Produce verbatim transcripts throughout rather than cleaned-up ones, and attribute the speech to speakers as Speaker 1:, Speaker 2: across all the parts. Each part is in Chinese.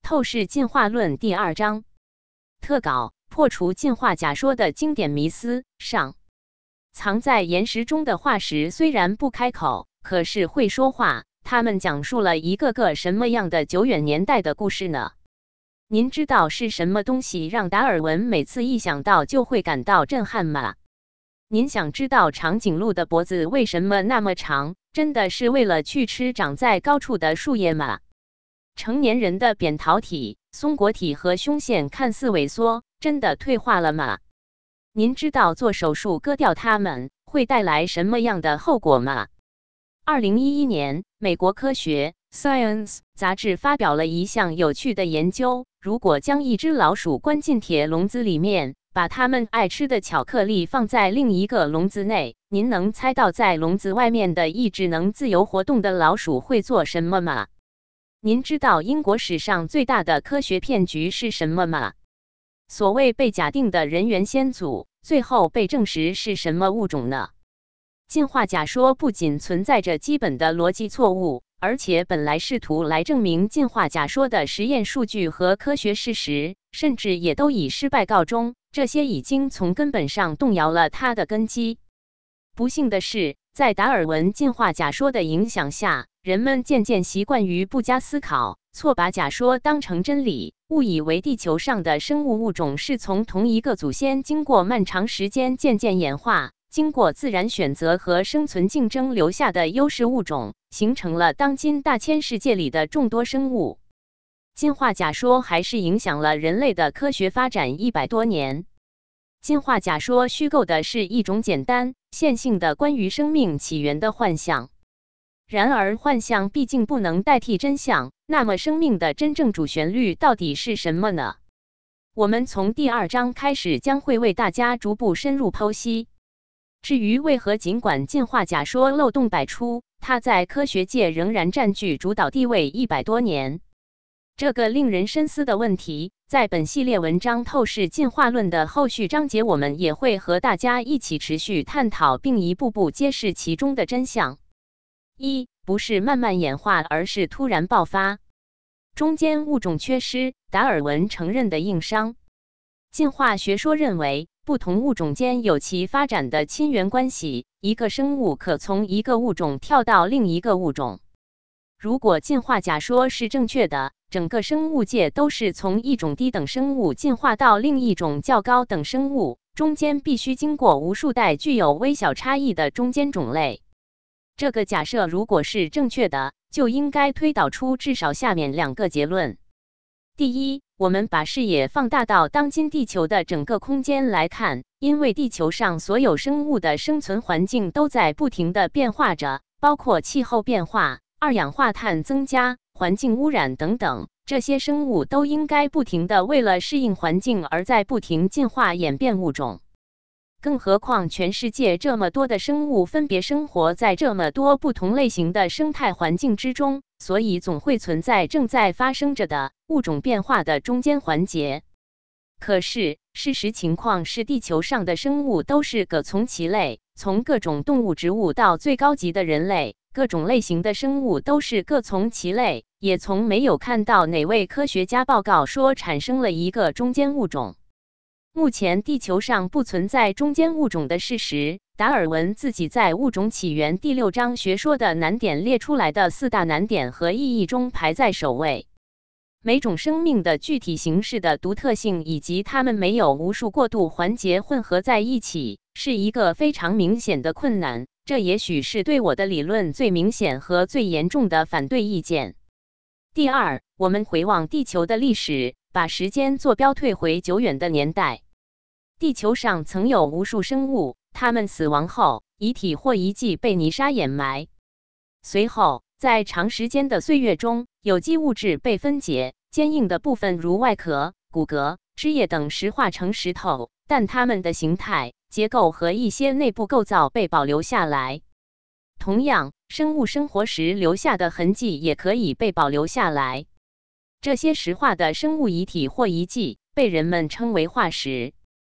Speaker 1: 透视进化论第二章特稿：破除进化假说的经典迷思。上，藏在岩石中的化石虽然不开口，可是会说话。他们讲述了一个个什么样的久远年代的故事呢？您知道是什么东西让达尔文每次一想到就会感到震撼吗？您想知道长颈鹿的脖子为什么那么长？真的是为了去吃长在高处的树叶吗？成年人的扁桃体、松果体和胸腺看似萎缩，真的退化了吗？您知道做手术割掉它们会带来什么样的后果吗？二零一一年，美国科学 Science 杂志发表了一项有趣的研究：如果将一只老鼠关进铁笼子里面，把它们爱吃的巧克力放在另一个笼子内，您能猜到在笼子外面的一只能自由活动的老鼠会做什么吗？您知道英国史上最大的科学骗局是什么吗？所谓被假定的人猿先祖，最后被证实是什么物种呢？进化假说不仅存在着基本的逻辑错误，而且本来试图来证明进化假说的实验数据和科学事实，甚至也都以失败告终。这些已经从根本上动摇了它的根基。不幸的是，在达尔文进化假说的影响下，人们渐渐习惯于不加思考，错把假说当成真理，误以为地球上的生物物种是从同一个祖先经过漫长时间渐渐演化，经过自然选择和生存竞争留下的优势物种，形成了当今大千世界里的众多生物。进化假说还是影响了人类的科学发展一百多年。进化假说虚构的是一种简单、线性的关于生命起源的幻象。然而，幻象毕竟不能代替真相。那么，生命的真正主旋律到底是什么呢？我们从第二章开始将会为大家逐步深入剖析。至于为何尽管进化假说漏洞百出，它在科学界仍然占据主导地位一百多年，这个令人深思的问题，在本系列文章《透视进化论》的后续章节，我们也会和大家一起持续探讨，并一步步揭示其中的真相。一，不是慢慢演化，而是突然爆发。中间物种缺失，达尔文承认的硬伤。进化学说认为，不同物种间有其发展的亲缘关系，一个生物可从一个物种跳到另一个物种。如果进化假说是正确的，整个生物界都是从一种低等生物进化到另一种较高等生物，中间必须经过无数代具有微小差异的中间种类。这个假设如果是正确的，就应该推导出至少下面两个结论。第一，我们把视野放大到当今地球的整个空间来看，因为地球上所有生物的生存环境都在不停地变化着，包括气候变化、二氧化碳增加、环境污染等等，这些生物都应该不停地为了适应环境而在不停进化演变物种。更何况全世界这么多的生物分别生活在这么多不同类型的生态环境之中，所以总会存在正在发生着的物种变化的中间环节。可是，事实情况是地球上的生物都是各从其类，从各种动物植物到最高级的人类，各种类型的生物都是各从其类，也从没有看到哪位科学家报告说产生了一个中间物种。目前地球上不存在中间物种的事实，达尔文自己在《物种起源》第六章学说的难点列出来的四大难点和意义中排在首位。每种生命的具体形式的独特性，以及它们没有无数过渡环节混合在一起，是一个非常明显的困难。这也许是对我的理论最明显和最严重的反对意见。第二，我们回望地球的历史，把时间坐标退回久远的年代。地球上曾有无数生物，它们死亡后，遗体或遗迹被泥沙掩埋。随后，在长时间的岁月中，有机物质被分解，坚硬的部分如外壳、骨骼、枝叶等石化成石头，但它们的形态、结构和一些内部构造被保留下来。同样，生物生活时留下的痕迹也可以被保留下来。这些石化的生物遗体或遗迹被人们称为化石。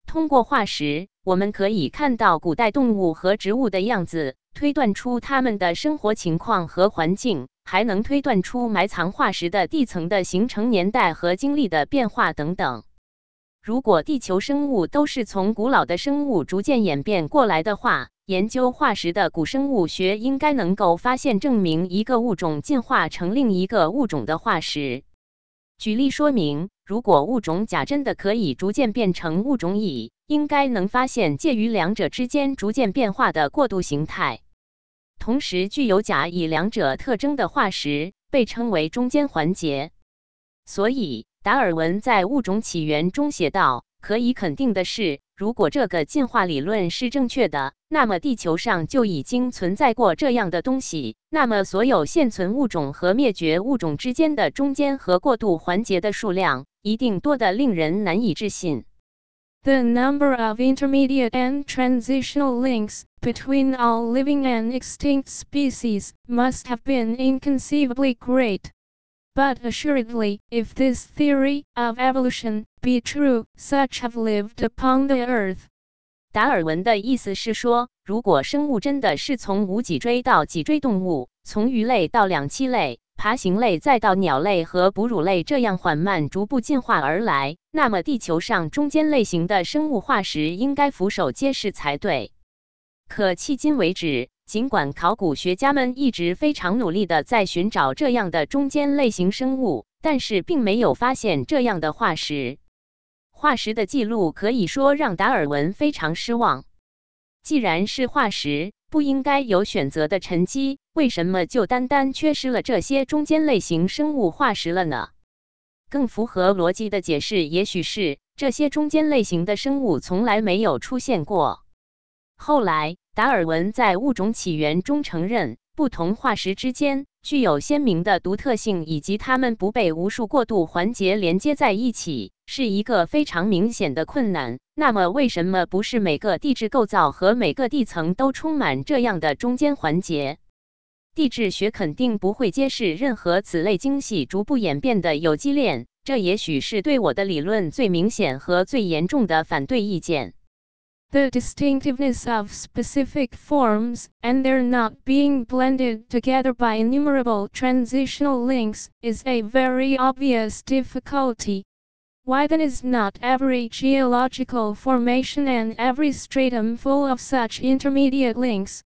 Speaker 1: 通过化石，我们可以看到古代动物和植物的样子，推断出它们的生活情况和环境，还能推断出埋藏化石的地层的形成年代和经历的变化等等。如果地球生物都是从古老的生物逐渐演变过来的话，研究化石的古生物学应该能够发现证明一个物种进化成另一个物种的化石。举例说明，如果物种甲真的可以逐渐变成物种乙，应该能发现介于两者之间逐渐变化的过渡形态。同时，具有甲乙两者特征的化石被称为中间环节。所以，达尔文在《物种起源》中写道：“可以肯定的是，如果这个进化理论是正确的，那么地球上就已经存在过这样的东西。那么，所有现存物种和灭绝物种之间的中间和过渡环节的数量，一定多得令人难以置信。”
Speaker 2: The number of intermediate and transitional links between all living and extinct species must have been inconceivably great. But assuredly, if this theory of evolution be true, such have lived upon the earth.
Speaker 1: 达尔文的意思是说，如果生物真的是从无脊椎到脊椎动物，从鱼类到两栖类、爬行类再到鸟类和哺乳类这样缓慢逐步进化而来，那么地球上中间类型的生物化石应该俯首皆是才对。可迄今为止，尽管考古学家们一直非常努力地在寻找这样的中间类型生物，但是并没有发现这样的化石。化石的记录可以说让达尔文非常失望。既然是化石，不应该有选择的沉积，为什么就单单缺失了这些中间类型生物化石了呢？更符合逻辑的解释也许是，这些中间类型的生物从来没有出现过。后来，达尔文在《物种起源》中承认，不同化石之间具有鲜明的独特性，以及它们不被无数过渡环节连接在一起，是一个非常明显的困难。那么，为什么不是每个地质构造和每个地层都充满这样的中间环节？地质学肯定不会揭示任何此类精细逐步演变的有机链，这也许是对我的理论最明显和最严重的反对意见。
Speaker 2: The distinctiveness of specific forms, and their not being blended together by innumerable transitional links, is a very obvious difficulty. Why then is not every geological formation and every stratum full of such intermediate links?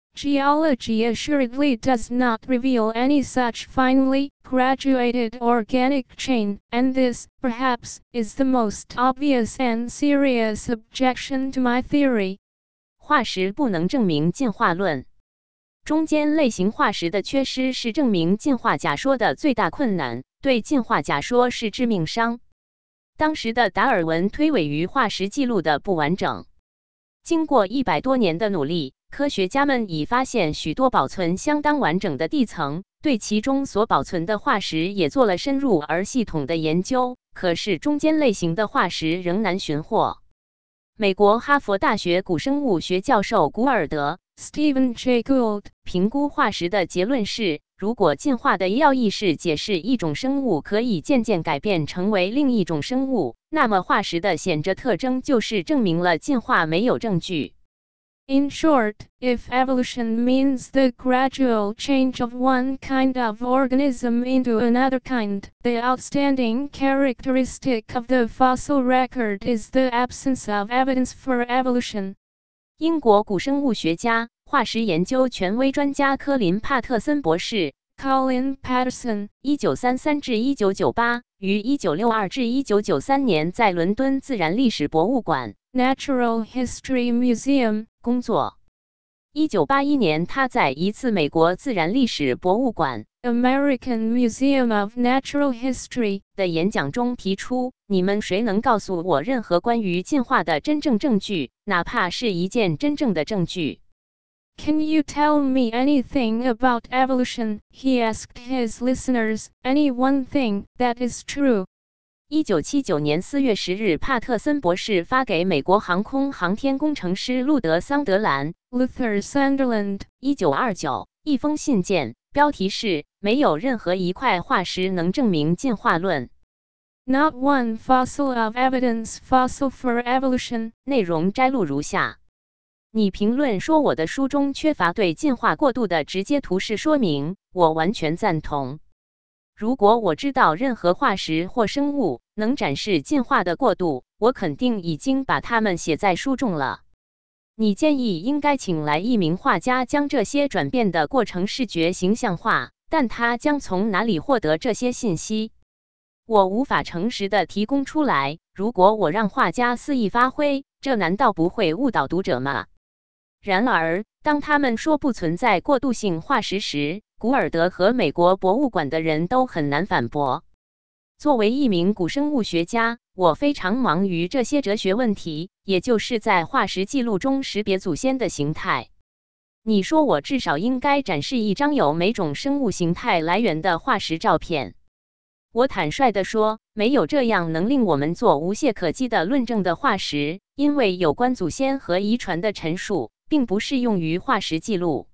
Speaker 2: Geology assuredly does not reveal any such finely graduated organic chain, and this, perhaps, is the most obvious and serious objection to my theory.
Speaker 1: 化石不能证明进化论。中间类型化石的缺失是证明进化假说的最大困难，对进化假说是致命伤。当时的达尔文推诿于化石记录的不完整。经过一百多年的努力，科学家们已发现许多保存相当完整的地层，对其中所保存的化石也做了深入而系统的研究。可是中间类型的化石仍难寻获。美国哈佛大学古生物学教授古尔德
Speaker 2: Stephen J. Gould
Speaker 1: 评估化石的结论是，如果进化的要义是解释一种生物可以渐渐改变成为另一种生物，那么化石的显着特征就是证明了进化没有证据。
Speaker 2: In short, if evolution means the gradual change of one kind of organism into another kind, the outstanding characteristic of the fossil record is the absence of evidence for evolution.
Speaker 1: 英国古生物学家、化石研究权威专家科林·帕特森博士
Speaker 2: Colin Patterson
Speaker 1: 一九三三至一九九八于一九六二至一九九三年在伦敦自然历史博物馆
Speaker 2: Natural History Museum
Speaker 1: 工作。一九八一年，他在一次美国自然历史博物馆
Speaker 2: American Museum of Natural History
Speaker 1: 的演讲中提出：“你们谁能告诉我任何关于进化的真正证据，哪怕是一件真正的证据？”
Speaker 2: Can you tell me anything about evolution? He asked his listeners. Any one thing that is true.
Speaker 1: 一九七九年四月十日，帕特森博士发给美国航空航天工程师路德·桑德兰
Speaker 2: Luther Sunderland
Speaker 1: 一九二九一封信件，标题是“没有任何一块化石能证明进化论”。
Speaker 2: Not one fossil of evidence fossil for evolution.
Speaker 1: 内容摘录如下。你评论说我的书中缺乏对进化过渡的直接图示说明，我完全赞同。如果我知道任何化石或生物能展示进化的过渡，我肯定已经把它们写在书中了。你建议应该请来一名画家将这些转变的过程视觉形象化，但他将从哪里获得这些信息？我无法诚实地提供出来。如果我让画家肆意发挥，这难道不会误导读者吗？然而，当他们说不存在过渡性化石时，古尔德和美国博物馆的人都很难反驳。作为一名古生物学家，我非常忙于这些哲学问题，也就是在化石记录中识别祖先的形态。你说我至少应该展示一张有每种生物形态来源的化石照片。我坦率地说，没有这样能令我们做无懈可击的论证的化石，因为有关祖先和遗传的陈述并不适用于化石记录。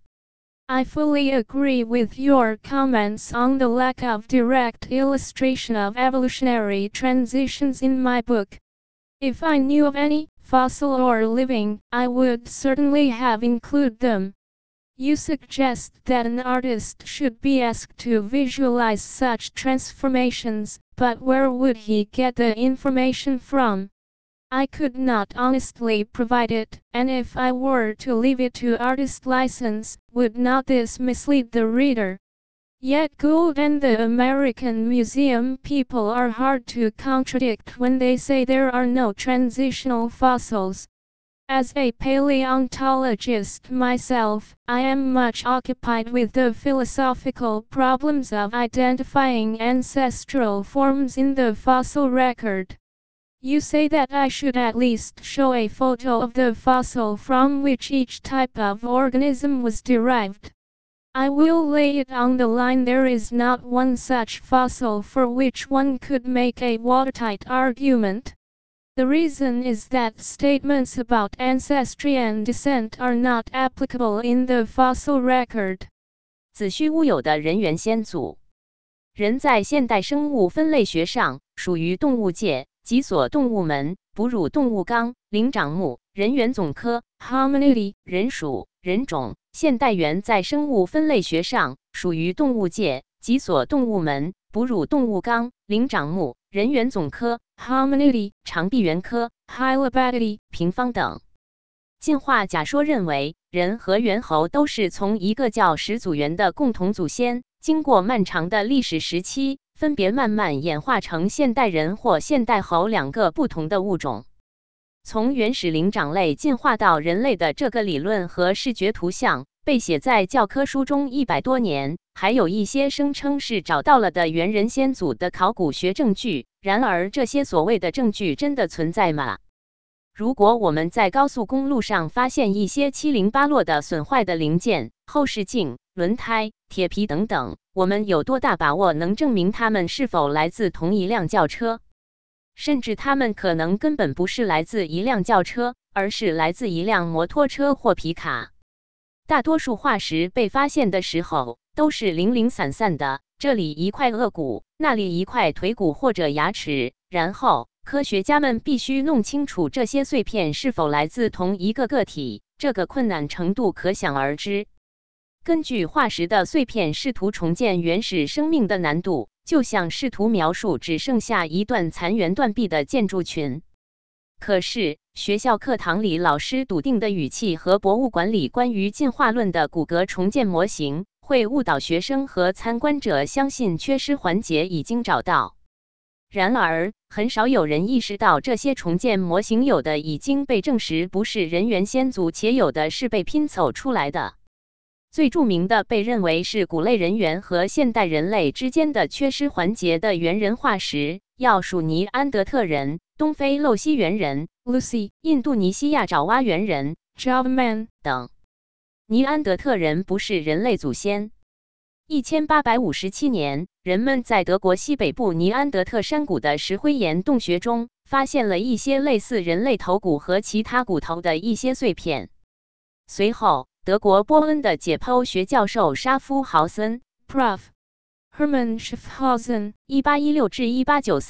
Speaker 2: I fully agree with your comments on the lack of direct illustration of evolutionary transitions in my book. If I knew of any, fossil or living, I would certainly have included them. You suggest that an artist should be asked to visualize such transformations, but where would he get the information from? I could not honestly provide it, and if I were to leave it to artist license, would not this mislead the reader? Yet Gould and the American Museum people are hard to contradict when they say there are no transitional fossils. As a paleontologist myself, I am much occupied with the philosophical problems of identifying ancestral forms in the fossil record. You say that I should at least show a photo of the fossil from which each type of organism was derived. I will lay it on the line there is not one such fossil for which one could make a watertight argument. The reason is that statements about ancestry and descent are not applicable in the fossil record.
Speaker 1: 子虚乌有的人猿先祖。人在现代生物分类学上属于动物界，脊索动物门、哺乳动物纲、灵长目、人猿总科 Hominidae 人属、人种。现代猿在生物分类学上属于动物界，脊索动物门、哺乳动物纲、灵长目、人猿总科 Hominidae 长臂猿科 Hylobatidae 平方等。进化假说认为，人和猿猴都是从一个叫始祖猿的共同祖先，经过漫长的历史时期，分别慢慢演化成现代人或现代猴两个不同的物种。从原始灵长类进化到人类的这个理论和视觉图像被写在教科书中一百多年，还有一些声称是找到了的猿人先祖的考古学证据。然而，这些所谓的证据真的存在吗？如果我们在高速公路上发现一些七零八落的损坏的零件、后视镜、轮胎、铁皮等等，我们有多大把握能证明它们是否来自同一辆轿车？甚至它们可能根本不是来自一辆轿车，而是来自一辆摩托车或皮卡。大多数化石被发现的时候都是零零散散的，这里一块颚骨，那里一块腿骨或者牙齿，然后科学家们必须弄清楚这些碎片是否来自同一个个体，这个困难程度可想而知。根据化石的碎片试图重建原始生命的难度，就像试图描述只剩下一段残垣断壁的建筑群。可是，学校课堂里老师笃定的语气和博物馆里关于进化论的骨骼重建模型，会误导学生和参观者相信缺失环节已经找到。然而，很少有人意识到这些重建模型有的已经被证实不是人猿先祖，且有的是被拼凑出来的。最著名的被认为是古类人猿和现代人类之间的缺失环节的猿人化石，要数尼安德特人、东非露西猿人 Lucy、印度尼西亚爪哇猿人 Java Man 等。尼安德特人不是人类祖先。一千八百五十七年，人们在德国西北部尼安德特山谷的石灰岩洞穴中发现了一些类似人类头骨和其他骨头的一些碎片。随后，德国波恩的解剖学教授沙夫豪森 Prof Hermann Schaffhausen 一八一六至一八九三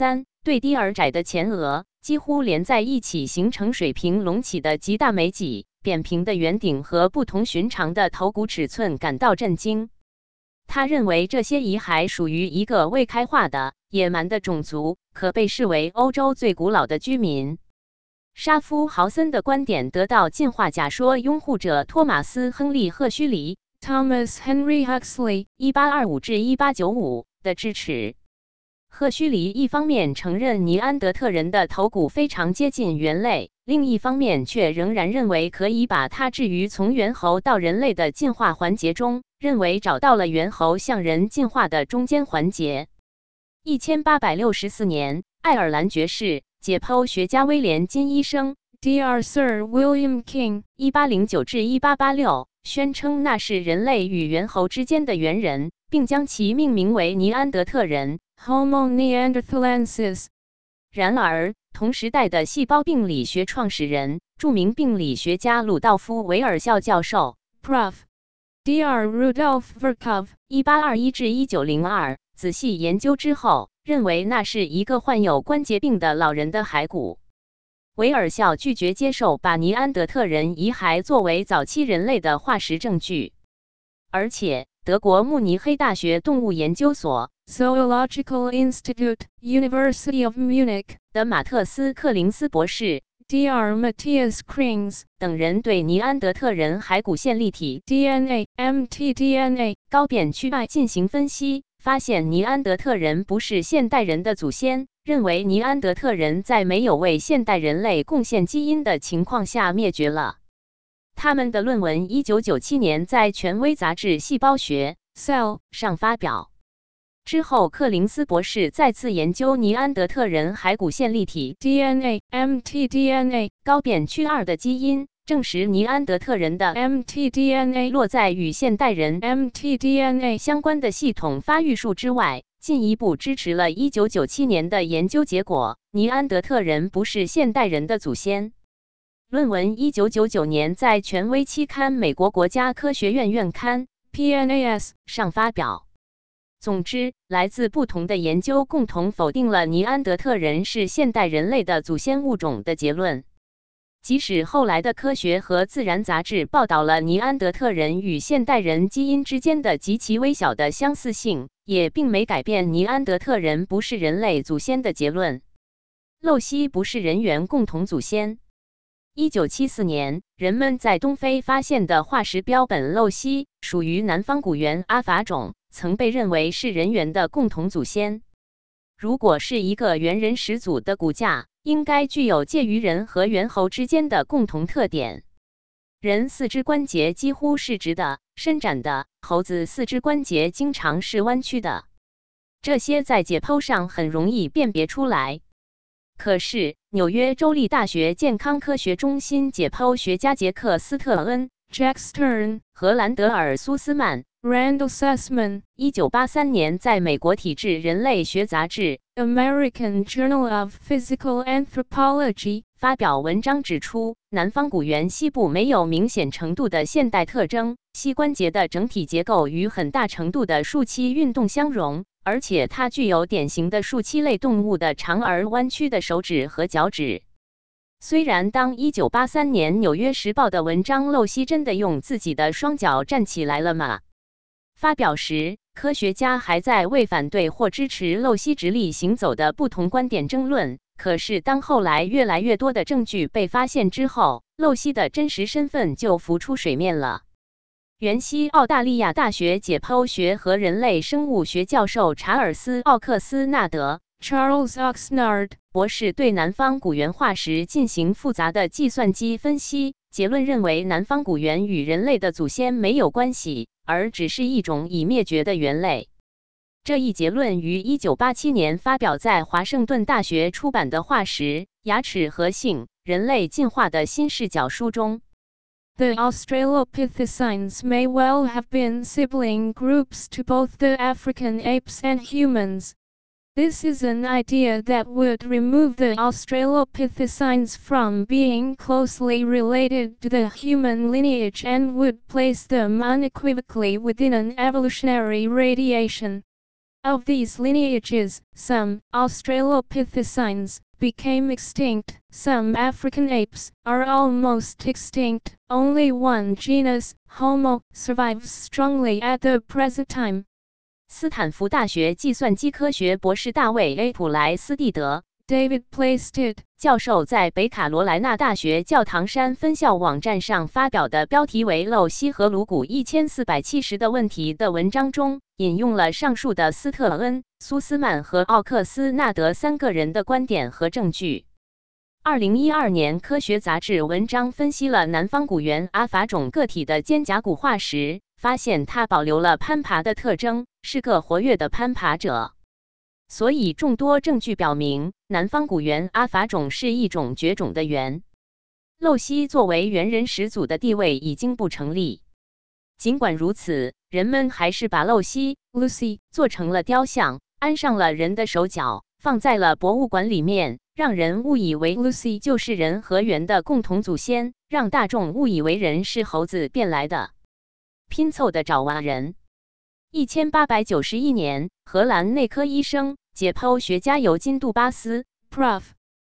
Speaker 1: 对低而窄的前额，几乎连在一起形成水平隆起的极大眉脊、扁平的圆顶和不同寻常的头骨尺寸感到震惊。他认为这些遗骸属于一个未开化的野蛮的种族，可被视为欧洲最古老的居民。沙夫豪森的观点得到进化假说拥护者托马斯·亨利·赫胥黎
Speaker 2: Thomas Henry Huxley
Speaker 1: （一八二五至一八九五）的支持。赫胥黎一方面承认尼安德特人的头骨非常接近猿类，另一方面却仍然认为可以把它置于从猿猴到人类的进化环节中，认为找到了猿猴向人进化的中间环节。一千八百六十四年，爱尔兰爵士、解剖学家威廉金医生
Speaker 2: Doctor Sir William King
Speaker 1: （一八零九至一八八六）宣称那是人类与猿猴之间的猿人，并将其命名为尼安德特人
Speaker 2: Homo neanderthalensis。
Speaker 1: 然而，同时代的细胞病理学创始人、著名病理学家鲁道夫·韦尔肖教授
Speaker 2: Prof Doctor Rudolf Virchow
Speaker 1: （一八二一至一九零二）仔细研究之后，认为那是一个患有关节病的老人的骸骨。韦尔肖拒绝接受把尼安德特人遗骸作为早期人类的化石证据，而且德国慕尼黑大学动物研究所
Speaker 2: Zoological Institute, University of Munich
Speaker 1: 的马特斯·克林斯博士
Speaker 2: Doctor Matthias Krings
Speaker 1: 等人对尼安德特人骸骨线粒体
Speaker 2: D N A mtDNA
Speaker 1: 高扁曲脉进行分析，发现尼安德特人不是现代人的祖先，认为尼安德特人在没有为现代人类贡献基因的情况下灭绝了。他们的论文一九九七年在权威杂志《细胞学》
Speaker 2: Cell
Speaker 1: 上发表。之后，克林斯博士再次研究尼安德特人骸骨线粒体
Speaker 2: D N A mtDNA
Speaker 1: 高扁曲二的基因，证实尼安德特人的
Speaker 2: mtDNA
Speaker 1: 落在与现代人
Speaker 2: mtDNA
Speaker 1: 相关的系统发育树之外，进一步支持了一九九七年的研究结果：尼安德特人不是现代人的祖先。论文一九九九年在权威期刊《美国国家科学院院刊》
Speaker 2: P N A S
Speaker 1: 上发表。总之，来自不同的研究共同否定了尼安德特人是现代人类的祖先物种的结论。即使后来的科学和自然杂志报道了尼安德特人与现代人基因之间的极其微小的相似性，也并没改变尼安德特人不是人类祖先的结论。露西不是人猿共同祖先。一九七四年，人们在东非发现的化石标本露西属于南方古猿阿法种，曾被认为是人猿的共同祖先。如果是一个猿人始祖的骨架，应该具有介于人和猿猴之间的共同特点。人四肢关节几乎是直的、伸展的，猴子四肢关节经常是弯曲的。这些在解剖上很容易辨别出来。可是，纽约州立大学健康科学中心解剖学家杰克·斯特恩
Speaker 2: Jack Stern
Speaker 1: 和兰德尔·苏斯曼
Speaker 2: Randall Sussman
Speaker 1: 一九八三年在美国体质人类学杂志
Speaker 2: American Journal of Physical Anthropology
Speaker 1: 发表文章指出，南方古猿膝部没有明显程度的现代特征，膝关节的整体结构与很大程度的树栖运动相容，而且它具有典型的树栖类动物的长而弯曲的手指和脚趾。虽然当一九八三年《纽约时报》的文章露西真的用自己的双脚站起来了吗？发表时，科学家还在为反对或支持露西直立行走的不同观点争论。可是当后来越来越多的证据被发现之后，露西的真实身份就浮出水面了。原西澳大利亚大学解剖学和人类生物学教授查尔斯·奥克斯纳德
Speaker 2: Charles Oxnard
Speaker 1: 博士对南方古猿化石进行复杂的计算机分析，结论认为南方古猿与人类的祖先没有关系，而只是一种已灭绝的猿类。这一结论于一九八七年发表在华盛顿大学出版的《化石、牙齿和性：人类进化的新视角》书中。
Speaker 2: The Australopithecines may well have been sibling groups to both the African apes and humans. This is an idea that would remove the Australopithecines from being closely related to the human lineage and would place them unequivocally within an evolutionary radiation. Of these lineages, some Australopithecines became extinct, some African apes are almost extinct. Only one genus, Homo, survives strongly at the present time.
Speaker 1: 斯坦福大学计算机科学博士大卫 ·A. 普莱斯蒂德
Speaker 2: David Plaisted
Speaker 1: 教授在北卡罗来纳大学教堂山分校网站上发表的标题为《露西和颅骨一千四百七十的问题》的文章中，引用了上述的斯特恩、苏斯曼和奥克斯纳德三个人的观点和证据。二零一二年科学杂志文章分析了南方古猿阿法种个体的肩胛骨化石，发现它保留了攀爬的特征，是个活跃的攀爬者。所以众多证据表明，南方古猿阿法种是一种绝种的猿。露西作为猿人始祖的地位已经不成立。尽管如此，人们还是把露西 Lucy 做成了雕像，安上了人的手脚，放在了博物馆里面，让人误以为 Lucy 就是人和猿的共同祖先，让大众误以为人是猴子变来的。拼凑的爪哇人。一千八百九十一年，荷兰内科医生、解剖学家尤金·杜巴斯
Speaker 2: Prof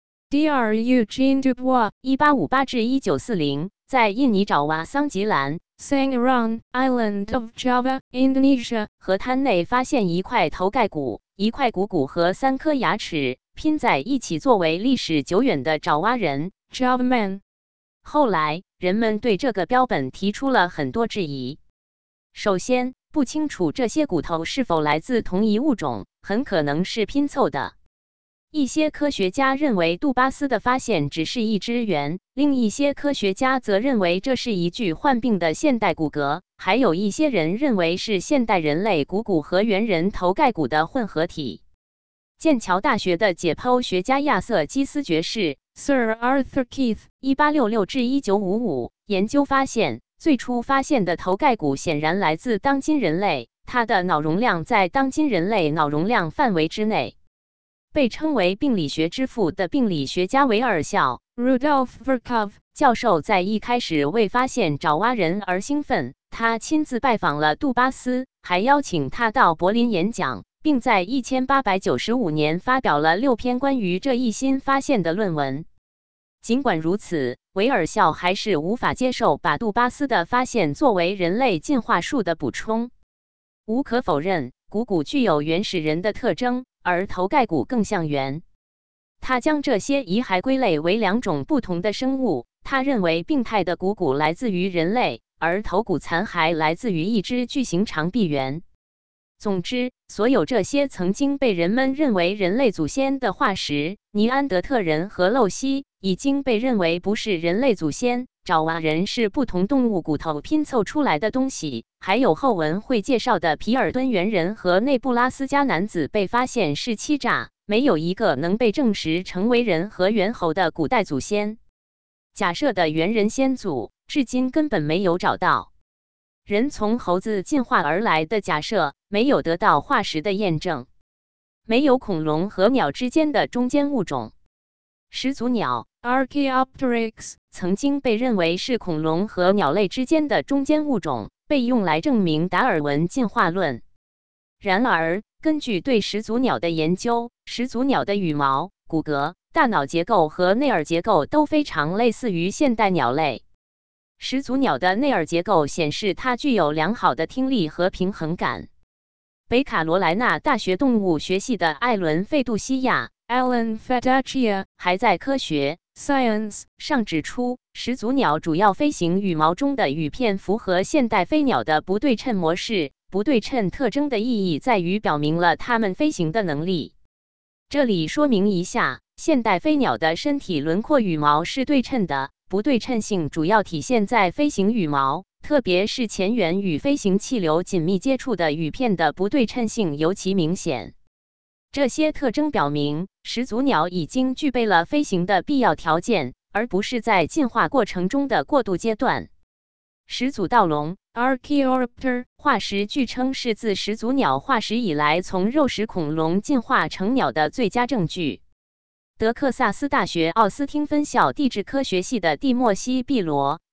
Speaker 2: Dr Eugene Dubois
Speaker 1: （一八五八至一九四零）在印尼爪哇桑吉兰
Speaker 2: Sangiran Island of Java, Indonesia
Speaker 1: 河滩内发现一块头盖骨、一块股骨和三颗牙齿拼在一起，作为历史久远的爪哇人
Speaker 2: Java Man。
Speaker 1: 后来，人们对这个标本提出了很多质疑。首先，不清楚这些骨头是否来自同一物种，很可能是拼凑的。一些科学家认为杜巴斯的发现只是一只猿，另一些科学家则认为这是一具患病的现代骨骼，还有一些人认为是现代人类股骨和猿人头盖骨的混合体。剑桥大学的解剖学家亚瑟基斯爵士
Speaker 2: Sir Arthur Keith
Speaker 1: 一八六六至一九五五研究发现，最初发现的头盖骨显然来自当今人类，它的脑容量在当今人类脑容量范围之内。被称为病理学之父的病理学家维尔肖
Speaker 2: Rudolf Virchow
Speaker 1: 教授在一开始为发现爪哇人而兴奋，他亲自拜访了杜巴斯，还邀请他到柏林演讲，并在一千八百九十五年发表了六篇关于这一新发现的论文。尽管如此，维尔肖还是无法接受把杜巴斯的发现作为人类进化树的补充。无可否认，股骨具有原始人的特征，而头盖骨更像猿。他将这些遗骸归类为两种不同的生物。他认为病态的股骨来自于人类，而头骨残骸来自于一只巨型长臂猿。总之，所有这些曾经被人们认为人类祖先的化石，尼安德特人和露西，已经被认为不是人类祖先。爪哇人是不同动物骨头拼凑出来的东西。还有后文会介绍的皮尔敦猿人和内布拉斯加男子被发现是欺诈，没有一个能被证实成为人和猿猴的古代祖先。假设的猿人先祖，至今根本没有找到。人从猴子进化而来的假设没有得到化石的验证。没有恐龙和鸟之间的中间物种。始祖鸟
Speaker 2: Archaeopteryx
Speaker 1: 曾经被认为是恐龙和鸟类之间的中间物种，被用来证明达尔文进化论。然而，根据对始祖鸟的研究，始祖鸟的羽毛、骨骼、大脑结构和内耳结构都非常类似于现代鸟类。始祖鸟的内耳结构显示它具有良好的听力和平衡感。北卡罗来纳大学动物学系的艾伦·费杜西亚
Speaker 2: Alan Fedaccia
Speaker 1: 还在科学
Speaker 2: Science
Speaker 1: 上指出，始祖鸟主要飞行羽毛中的羽片符合现代飞鸟的不对称模式。不对称特征的意义在于表明了它们飞行的能力。这里说明一下，现代飞鸟的身体轮廓羽毛是对称的，不对称性主要体现在飞行羽毛，特别是前缘与飞行气流紧密接触的羽片的不对称性尤其明显。这些特征表明，始祖鸟已经具备了飞行的必要条件，而不是在进化过程中的过渡阶段。始祖盗龙
Speaker 2: Archaeopter
Speaker 1: 化石据称是自始祖鸟化石以来从肉食恐龙进化成鸟的最佳证据。德克萨斯大学奥斯汀分校地质科学系的蒂莫西·毕罗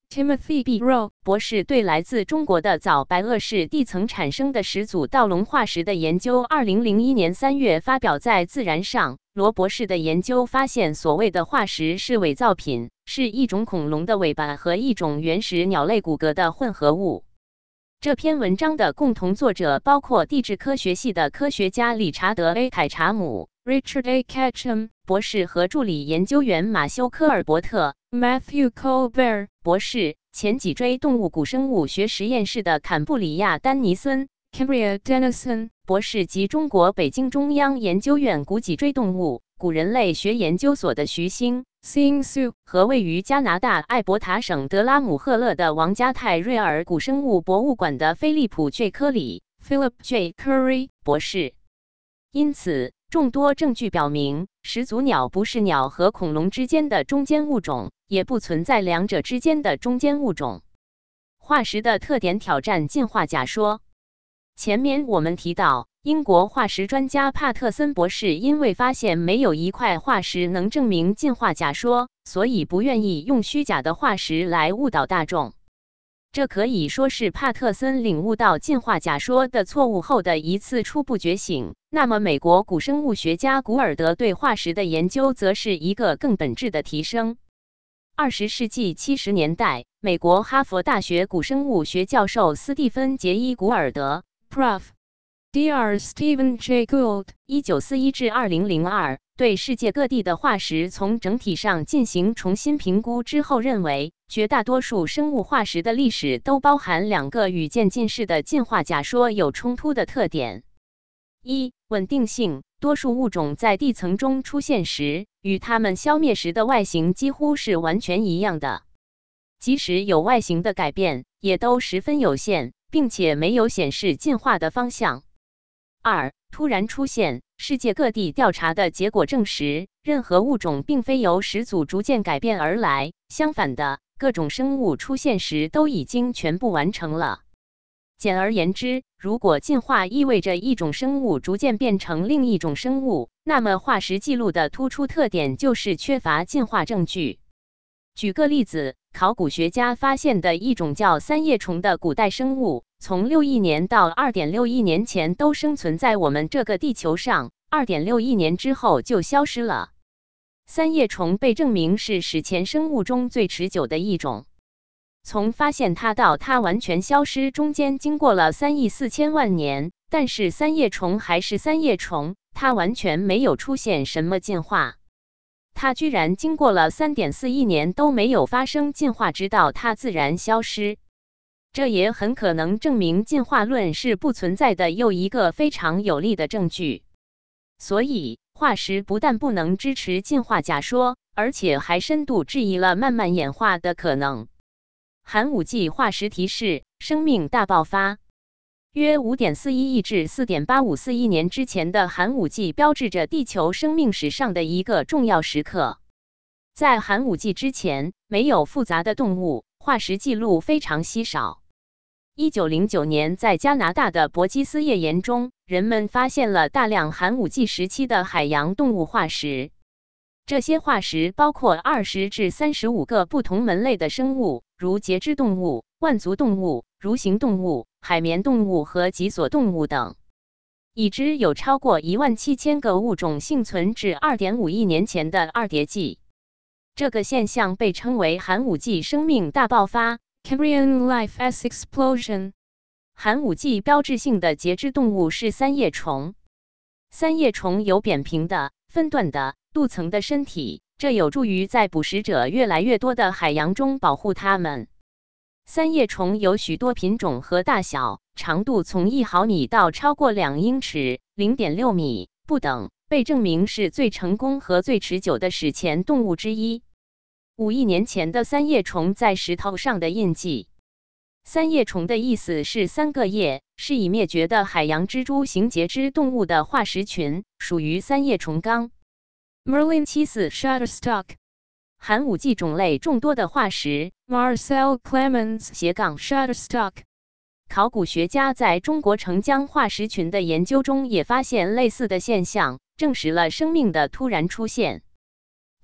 Speaker 2: Timothy B. Rowe
Speaker 1: 博士对来自中国的早白垩世地层产生的始祖盗龙化石的研究，二零零一年三月发表在《自然》上。罗博士的研究发现，所谓的化石是伪造品，是一种恐龙的尾巴和一种原始鸟类骨骼的混合物。这篇文章的共同作者包括地质科学系的科学家理查德 ·A. 凯查姆
Speaker 2: Richard A. Ketchum
Speaker 1: 博士和助理研究员马修·科尔伯特
Speaker 2: Matthew Colbert
Speaker 1: 博士，前脊椎动物古生物学实验室的坎布里亚·丹尼森
Speaker 2: Cambria Dennison
Speaker 1: 博士及中国北京中央研究院古脊椎动物、古人类学研究所的徐星
Speaker 2: Xing Su
Speaker 1: 和位于加拿大艾伯塔省德拉姆赫勒的王家泰瑞尔古生物博物馆的菲利普 ·J. 科里
Speaker 2: Philip J. Curry
Speaker 1: 博士。因此，众多证据表明，始祖鸟不是鸟和恐龙之间的中间物种，也不存在两者之间的中间物种。化石的特点挑战进化假说。前面我们提到，英国化石专家帕特森博士因为发现没有一块化石能证明进化假说，所以不愿意用虚假的化石来误导大众。这可以说是帕特森领悟到进化假说的错误后的一次初步觉醒。那么，美国古生物学家古尔德对化石的研究则是一个更本质的提升。二十世纪七十年代，美国哈佛大学古生物学教授斯蒂芬·杰伊·古尔德
Speaker 2: Prof Doctor Stephen J. Gould
Speaker 1: 一九四一至二零零二对世界各地的化石从整体上进行重新评估之后，认为绝大多数生物化石的历史都包含两个与渐进式的进化假说有冲突的特点：一、稳定性，多数物种在地层中出现时，与它们消灭时的外形几乎是完全一样的，即使有外形的改变，也都十分有限，并且没有显示进化的方向。二、突然出现，世界各地调查的结果证实，任何物种并非由始祖逐渐改变而来，相反的，各种生物出现时都已经全部完成了。简而言之，如果进化意味着一种生物逐渐变成另一种生物，那么化石记录的突出特点就是缺乏进化证据。举个例子，考古学家发现的一种叫三叶虫的古代生物，从六亿年到 二点六亿年前都生存在我们这个地球上 ,二点六亿年之后就消失了。三叶虫被证明是史前生物中最持久的一种。从发现它到它完全消失中间经过了三亿四千万年，但是三叶虫还是三叶虫，它完全没有出现什么进化。它居然经过了 三点四亿年都没有发生进化，直到它自然消失。这也很可能证明进化论是不存在的又一个非常有力的证据。所以，化石不但不能支持进化假说，而且还深度质疑了慢慢演化的可能。寒武纪化石提示：生命大爆发。约 五点四一亿至 四点八五四亿年之前的寒武纪标志着地球生命史上的一个重要时刻。在寒武纪之前，没有复杂的动物，化石记录非常稀少。一九零九年，在加拿大的伯基斯页岩中，人们发现了大量寒武纪时期的海洋动物化石。这些化石包括二十至三十五个不同门类的生物，如节肢动物、腕足动物、蠕行动物、海绵动物和脊索动物等。已知有超过一万七千个物种幸存至 二点五亿年前的二叠纪。这个现象被称为寒武纪生命大爆发
Speaker 2: Cambrian Life S Explosion。
Speaker 1: 寒武纪标志性的节肢动物是三叶虫。三叶虫有扁平的、分段的、镀层的身体，这有助于在捕食者越来越多的海洋中保护它们。三叶虫有许多品种和大小，长度从一毫米到超过两英尺 （零点六米）不等，被证明是最成功和最持久的史前动物之一。五亿年前的三叶虫在石头上的印记。三叶虫的意思是三个叶，是已灭绝的海洋蜘蛛型节肢动物的化石群，属于三叶虫纲。Merlin 七四 Shutterstock。寒武纪种类众多的化石
Speaker 2: Marcel Clemens
Speaker 1: 斜杠
Speaker 2: Shutterstock。
Speaker 1: 考古学家在中国澄江化石群的研究中也发现类似的现象，证实了生命的突然出现。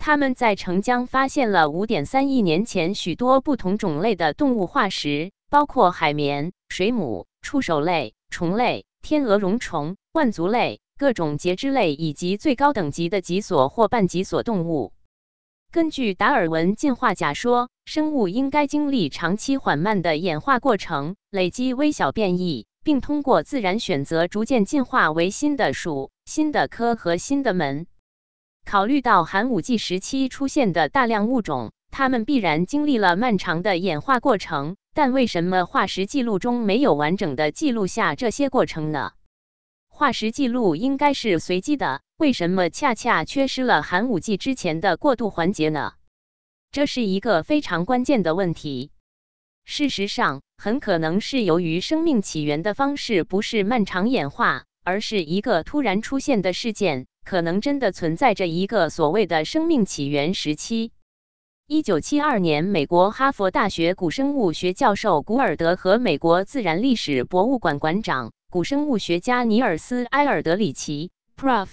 Speaker 1: 他们在澄江发现了 五点三亿年前许多不同种类的动物化石，包括海绵、水母、触手类、虫类、天鹅绒虫、腕足类、各种节肢类以及最高等级的脊索或半脊索动物。根据达尔文进化假说，生物应该经历长期缓慢的演化过程，累积微小变异，并通过自然选择逐渐进化为新的属、新的科和新的门。考虑到寒武纪时期出现的大量物种，它们必然经历了漫长的演化过程，但为什么化石记录中没有完整的记录下这些过程呢？化石记录应该是随机的，为什么恰恰缺失了寒武纪之前的过渡环节呢？这是一个非常关键的问题。事实上，很可能是由于生命起源的方式不是漫长演化，而是一个突然出现的事件，可能真的存在着一个所谓的生命起源时期。一九七二年，美国哈佛大学古生物学教授古尔德和美国自然历史博物馆馆长、古生物学家尼尔斯·埃尔德里奇
Speaker 2: Prof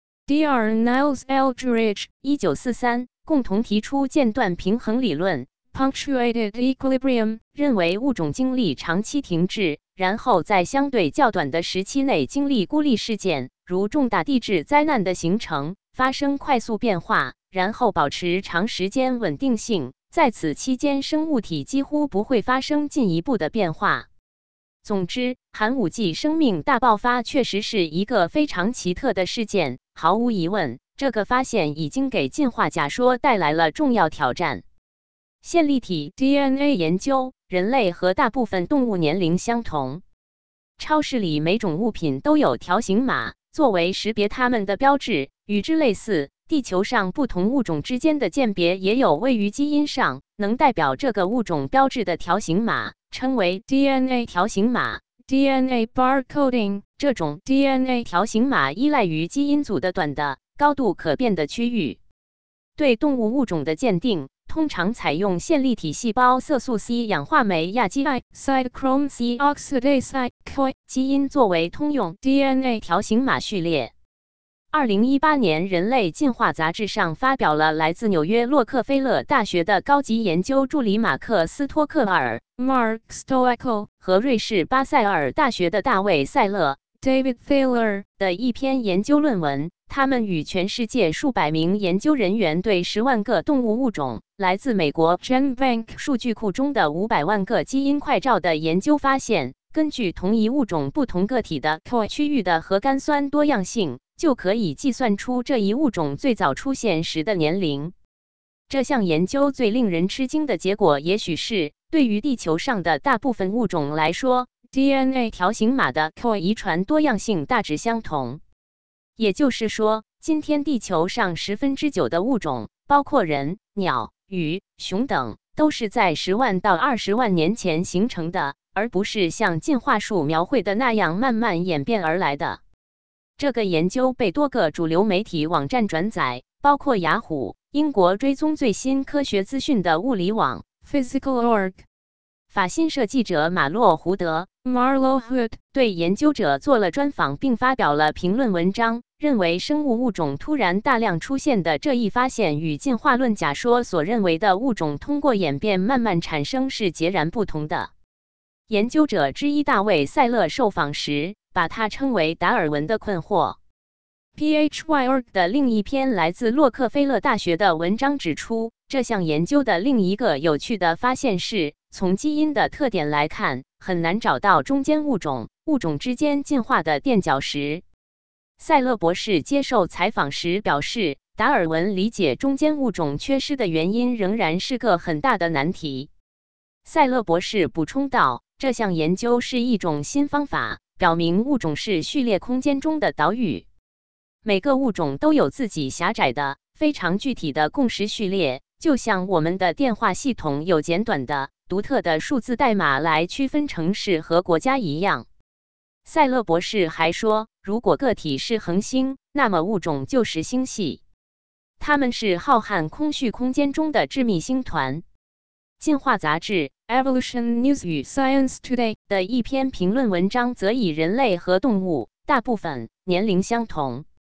Speaker 2: D R Niles Eldridge
Speaker 1: 一九四三共同提出间断平衡理论
Speaker 2: punctuated equilibrium，
Speaker 1: 认为物种经历长期停滞，然后在相对较短的时期内经历孤立事件，如重大地质灾难的形成，发生快速变化，然后保持长时间稳定性，在此期间生物体几乎不会发生进一步的变化。总之，寒武纪生命大爆发确实是一个非常奇特的事件，毫无疑问，这个发现已经给进化假说带来了重要挑战。线粒体 D N A 研究，人类和大部分动物年龄相同。超市里每种物品都有条形码，作为识别它们的标志。与之类似，地球上不同物种之间的鉴别也有位于基因上，能代表这个物种标志的条形码，称为
Speaker 2: D N A
Speaker 1: 条形码。
Speaker 2: D N A barcoding，
Speaker 1: 这种
Speaker 2: D N A
Speaker 1: 条形码依赖于基因组的短的、高度可变的区域。对动物物种的鉴定，通常采用线粒体细胞色素 C 氧化酶亚基胺
Speaker 2: cytochrome C oxidase C O I
Speaker 1: 基因作为通用
Speaker 2: D N A
Speaker 1: 条形码序列。二零一八年，人类进化杂志上发表了来自纽约洛克菲勒大学的高级研究助理马克·斯托克尔
Speaker 2: Mark Stoeckel
Speaker 1: 和瑞士巴塞尔大学的大卫·塞勒
Speaker 2: David Thaler
Speaker 1: 的一篇研究论文。他们与全世界数百名研究人员对十万个动物物种、来自美国 GenBank 数据库中的五百万个基因快照的研究发现，根据同一物种不同个体的 C O I 区域的核苷酸多样性，就可以计算出这一物种最早出现时的年龄。这项研究最令人吃惊的结果，也许是对于地球上的大部分物种来说 ，D N A 条形码的 C O I 遗传多样性大致相同。也就是说，今天地球上十分之九的物种，包括人、鸟、鱼、熊等，都是在十万到二十万年前形成的，而不是像进化树描绘的那样慢慢演变而来的。这个研究被多个主流媒体网站转载，包括雅虎、英国追踪最新科学资讯的物理网
Speaker 2: Physical Org。
Speaker 1: 法新社记者马洛·胡德
Speaker 2: Marlo Hood
Speaker 1: 对研究者做了专访，并发表了评论文章，认为生物物种突然大量出现的这一发现与进化论假说所认为的物种通过演变慢慢产生是截然不同的。研究者之一大卫·塞勒受访时，把它称为达尔文的困惑。P H Y Org 的另一篇来自洛克菲勒大学的文章指出，这项研究的另一个有趣的发现是，从基因的特点来看，很难找到中间物种、物种之间进化的垫脚石。塞勒博士接受采访时表示，达尔文理解中间物种缺失的原因仍然是个很大的难题。塞勒博士补充道，这项研究是一种新方法，表明物种是序列空间中的岛屿。每个物种都有自己狭窄的、非常具体的共识序列，就像我们的电话系统有简短的、独特的数字代码来区分城市和国家一样。塞勒博士还说，如果个体是恒星，那么物种就是星系，它们是浩瀚空虚空间中的致密星团。进化杂志 Evolution News 与 Science Today 的一篇评论文章则以人类和动物大部分年龄相同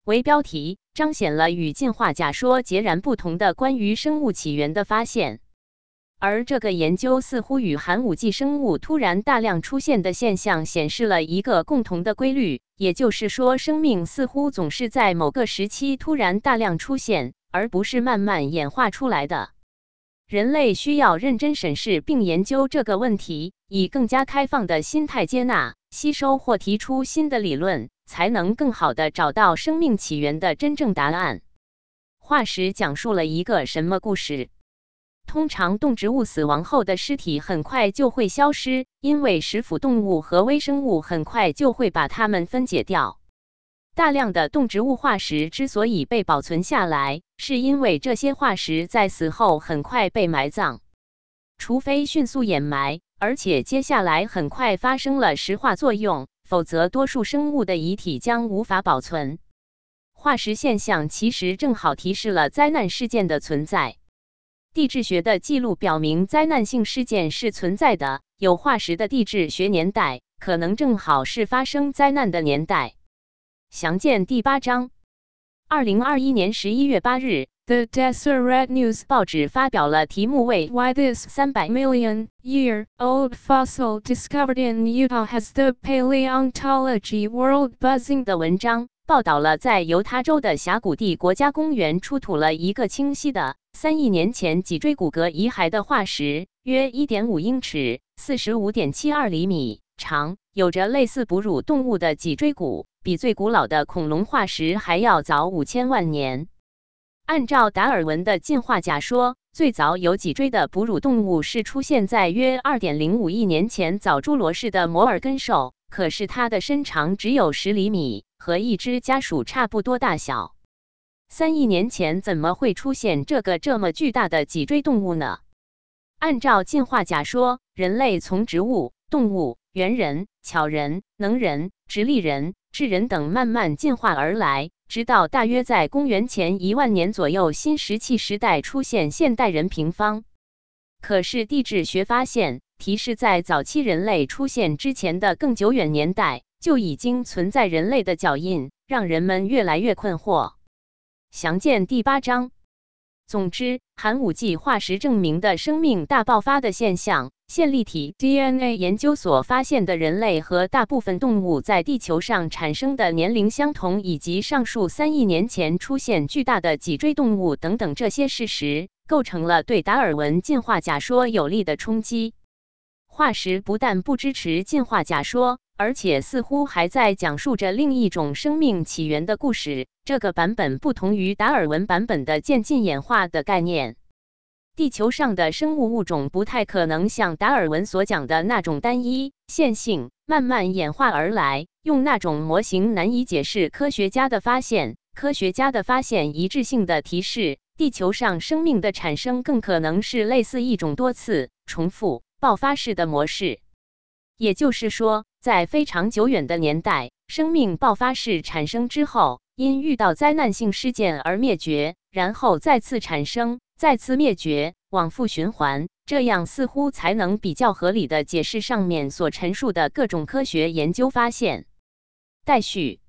Speaker 1: 为标题，彰显了与进化假说截然不同的关于生物起源的发现。而这个研究似乎与寒武纪生物突然大量出现的现象显示了一个共同的规律，也就是说，生命似乎总是在某个时期突然大量出现，而不是慢慢演化出来的。人类需要认真审视并研究这个问题，以更加开放的心态接纳、吸收或提出新的理论，才能更好地找到生命起源的真正答案。化石讲述了一个什么故事？通常动植物死亡后的尸体很快就会消失，因为食腐动物和微生物很快就会把它们分解掉。大量的动植物化石之所以被保存下来，是因为这些化石在死后很快被埋葬。除非迅速掩埋，而且接下来很快发生了石化作用，否则多数生物的遗体将无法保存。化石现象其实正好提示了灾难事件的存在。地质学的记录表明，灾难性事件是存在的，有化石的地质学年代可能正好是发生灾难的年代。详见第八章。二零二一年十一月八日，
Speaker 2: The Deseret News
Speaker 1: 报纸发表了题目为
Speaker 2: Why this
Speaker 1: 三百
Speaker 2: million year old fossil discovered in Utah has the paleontology world buzzing
Speaker 1: 的文章，报道了在犹他州的峡谷地国家公园出土了一个清晰的三亿年前脊椎骨骼遗骸的化石，约 一点五英尺 四十五点七二厘米长，有着类似哺乳动物的脊椎骨，比最古老的恐龙化石还要早五千万年。按照达尔文的进化假说，最早有脊椎的哺乳动物是出现在约 二点零五亿年前早侏罗世的摩尔根兽，可是它的身长只有十厘米，和一只家鼠差不多大小。三亿年前怎么会出现这个这么巨大的脊椎动物呢？按照进化假说，人类从植物、动物、猿人、巧人、能人、直立人、智人等慢慢进化而来，直到大约在公元前一万年左右新石器时代出现现代人平方。可是地质学发现，提示在早期人类出现之前的更久远年代，就已经存在人类的脚印，让人们越来越困惑。详见第八章。总之，寒武纪化石证明的生命大爆发的现象，线粒体 D N A 研究所发现的人类和大部分动物在地球上产生的年龄相同，以及上述三亿年前出现巨大的脊椎动物等等这些事实，构成了对达尔文进化假说有力的冲击。化石不但不支持进化假说，而且似乎还在讲述着另一种生命起源的故事。这个版本不同于达尔文版本的渐进演化的概念。地球上的生物物种不太可能像达尔文所讲的那种单一、线性、慢慢演化而来，用那种模型难以解释科学家的发现。科学家的发现一致性的提示，地球上生命的产生更可能是类似一种多次、重复、爆发式的模式。也就是说，在非常久远的年代，生命爆发式产生之后，因遇到灾难性事件而灭绝，然后再次产生，再次灭绝，往复循环，这样似乎才能比较合理地解释上面所陈述的各种科学研究发现。待续。